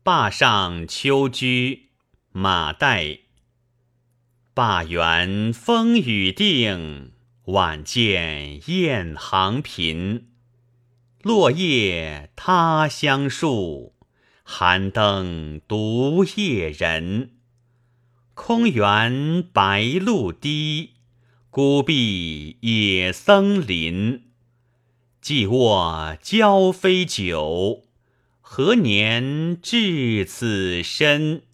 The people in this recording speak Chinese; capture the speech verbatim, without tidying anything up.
灞上秋居，马岱。灞原风雨定，晚见雁行频。落叶他乡树，寒灯独夜人。空园白鹭低，孤壁野僧林。既卧交飞酒，何年至此身？